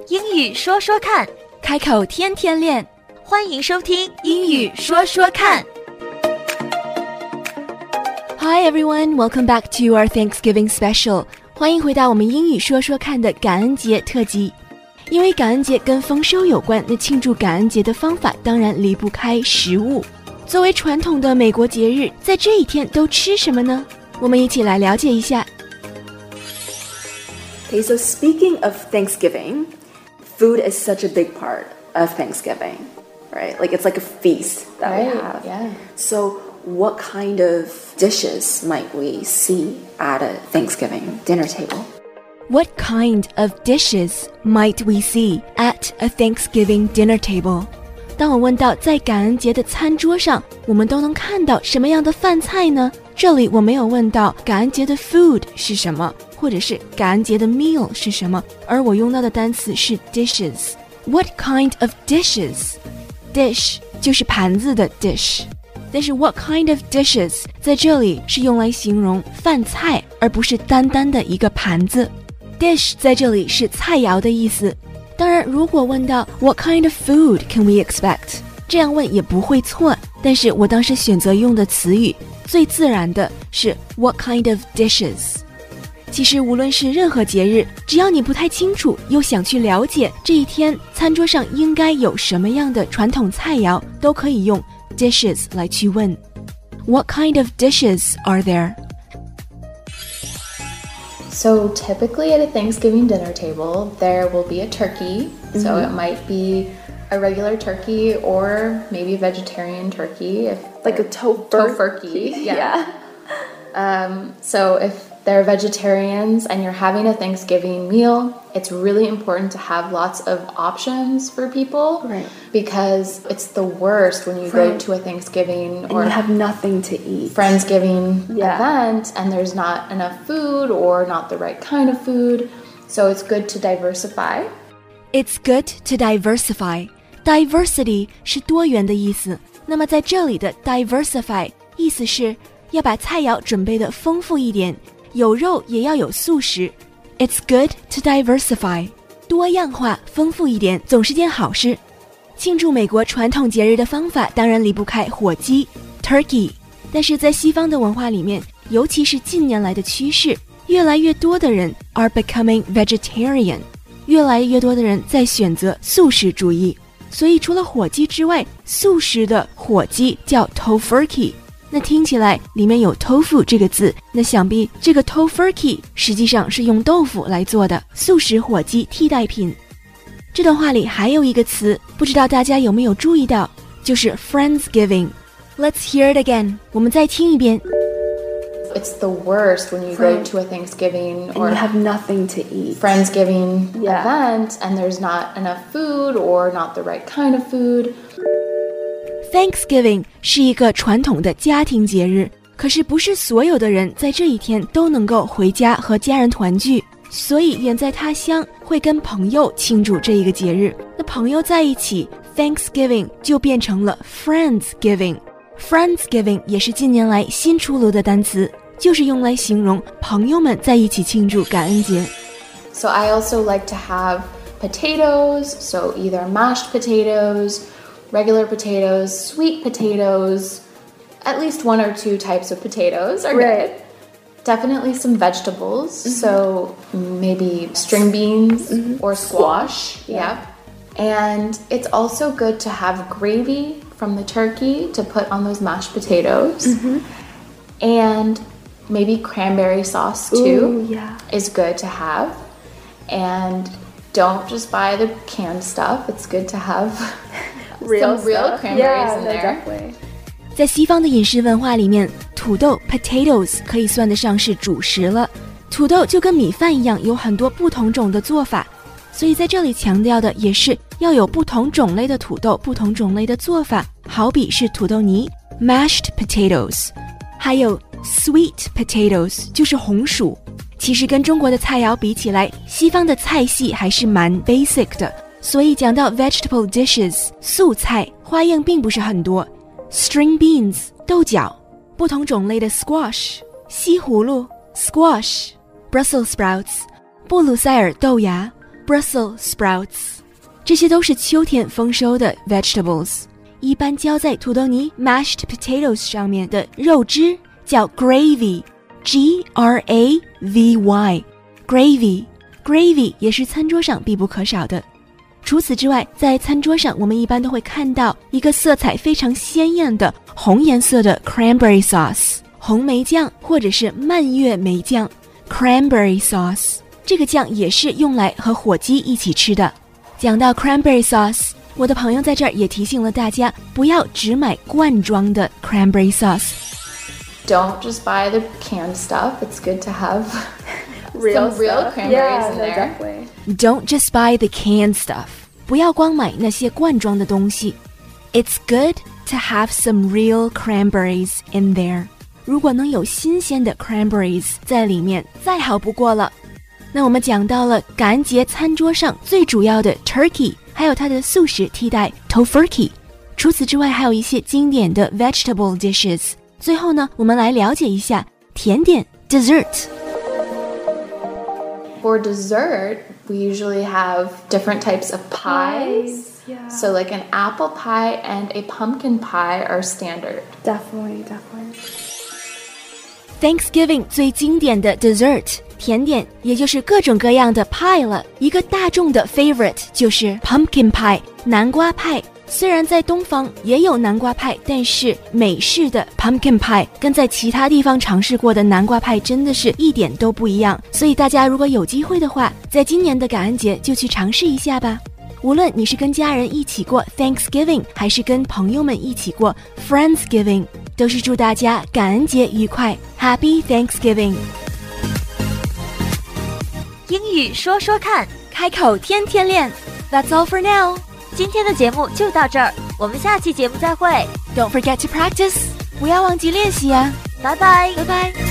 英语说说看， 开口天天练。 欢迎收听英语说说看。 Hi everyone, welcome back to our Thanksgiving special. 欢迎回到我们英语说说看的感恩节特辑。因为感恩节跟丰收有关，那庆祝感恩节的方法当然离不开食物。作为传统的美国节日，在这一天都吃什么呢？我们一起来了解一下。 Okay, so speaking of Thanksgiving, food is such a big part of Thanksgiving, right? Like it's like a feast that we have. Yeah. So what kind of dishes might we see at a Thanksgiving dinner table? What kind of dishes might we see at a Thanksgiving dinner table? 当我问到在感恩节的餐桌上，我们都能看到什么样的饭菜呢？这里我没有问到感恩节的 food 是什么，或者是感恩节的 meal 是什么，而我用到的单词是 dishes. What kind of dishes? Dish 就是盘子的 dish. 但是 what kind of dishes 在这里是用来形容饭菜，而不是单单的一个盘子。Dish 在这里是菜肴的意思。当然，如果问到 What kind of food can we expect? 这样问也不会错，但是我当时选择用的词语最自然的是 What kind of dishes? 其实无论是任何节日，只要你不太清楚，又想去了解这一天餐桌上应该有什么样的传统菜肴，都可以用 dishes 来去问。What kind of dishes are there? So typically at a Thanksgiving dinner table, there will be a turkey. So it might be a regular turkey or maybe a vegetarian turkey. Like a tofurkey. Yeah. So if they're vegetarians and you're having a Thanksgiving meal, it's really important to have lots of options for people. Right. Because it's the worst when you go to a Thanksgiving and or you have nothing to eat. Friendsgiving event and there's not enough food or not the right kind of food. So it's good to diversify. It's good to diversify. Diversity 是多元的意思。那么在这里的 diversify 意思是要把菜肴准备得丰富一点，有肉也要有素食。It's good to diversify. 多样化，丰富一点，总是件好事。庆祝美国传统节日的方法当然离不开火鸡 turkey， 但是在西方的文化里面，尤其是近年来的趋势，越来越多的人 are becoming vegetarian， 越来越多的人在选择素食主义。所以除了火鸡之外，素食的火鸡叫 tofurkey， 那听起来里面有 tofu 这个字，那想必这个 tofurkey 实际上是用豆腐来做的素食火鸡替代品。这段话里还有一个词，不知道大家有没有注意到，就是 Friendsgiving. Let's hear it again. 我们再听一遍。 It's the worst when you go to a Thanksgiving or and you have nothing to eat. Friendsgiving event and there's not enough food or not the right kind of food. Thanksgiving 是一个传统的家庭节日，可是不是所有的人在这一天都能够回家和家人团聚。所以远在他乡会跟朋友庆祝这一个节日，那朋友在一起 Thanksgiving 就变成了 Friendsgiving。 Friendsgiving 也是近年来新出炉的单词，就是用来形容朋友们在一起庆祝感恩节。 So I also like to have potatoes, so either mashed potatoes, regular potatoes, sweet potatoes, at least one or two types of potatoes are good.Definitely some vegetables, so maybe string beans or squash. Yeah. And it's also good to have gravy from the turkey to put on those mashed potatoes. And maybe cranberry sauce too is good to have. And don't just buy the canned stuff. It's good to have some real cranberries in there. Exactly. 在西方的饮食文化里面，土豆 potatoes 可以算得上是主食了。土豆就跟米饭一样，有很多不同种的做法，所以在这里强调的也是要有不同种类的土豆，不同种类的做法，好比是土豆泥 mashed potatoes， 还有 sweet potatoes 就是红薯。其实跟中国的菜肴比起来，西方的菜系还是蛮 basic 的，所以讲到 vegetable dishes 素菜花样并不是很多。String beans 豆角，不同种类的 squash 西葫芦 squash， Brussels sprouts 布鲁塞尔豆芽 Brussels sprouts， 这些都是秋天丰收的 vegetables， 一般浇在土豆泥 mashed potatoes 上面的肉汁叫 gravy， Gravy， gravy 也是餐桌上必不可少的。除此之外，在餐桌上我们一般都会看到一个色彩非常鲜艳的红颜色的 cranberry sauce， 红莓酱或者是蔓越莓酱 cranberry sauce， 这个酱也是用来和火鸡一起吃的。讲到 cranberry sauce， 我的朋友在这儿也提醒了大家，不要只买罐装的 cranberry sauce。Don't just buy the canned stuff. It's good to have some real cranberries in there. Don't just buy the canned stuff. 不要光买那些罐装的东西。It's good to have some real cranberries in there. 如果能有新鲜的 cranberries 在里面，再好不过了。那我们讲到了感恩节餐桌上最主要的 turkey， 还有它的素食替代 tofurkey。除此之外，还有一些经典的 vegetable dishes。最后呢，我们来了解一下甜点 dessert。For dessert, we usually have different types of pies. Yeah. So like an apple pie and a pumpkin pie are standard. Definitely. Thanksgiving 最经典的 dessert 甜点，也就是各种各样的 pie 了。一个大众的 favorite 就是 pumpkin pie 南瓜派。虽然在东方也有南瓜派，但是美式的 pumpkin pie 跟在其他地方尝试过的南瓜派真的是一点都不一样，所以大家如果有机会的话，在今年的感恩节就去尝试一下吧。无论你是跟家人一起过 Thanksgiving， 还是跟朋友们一起过 Friendsgiving， 都是祝大家感恩节愉快 Happy Thanksgiving。 英语说说看， 开口天天练。 That's all for now。 今天的节目就到这儿，我们下期节目再会。 Don't forget to practice， 不要忘记练习啊。 拜拜， 拜拜。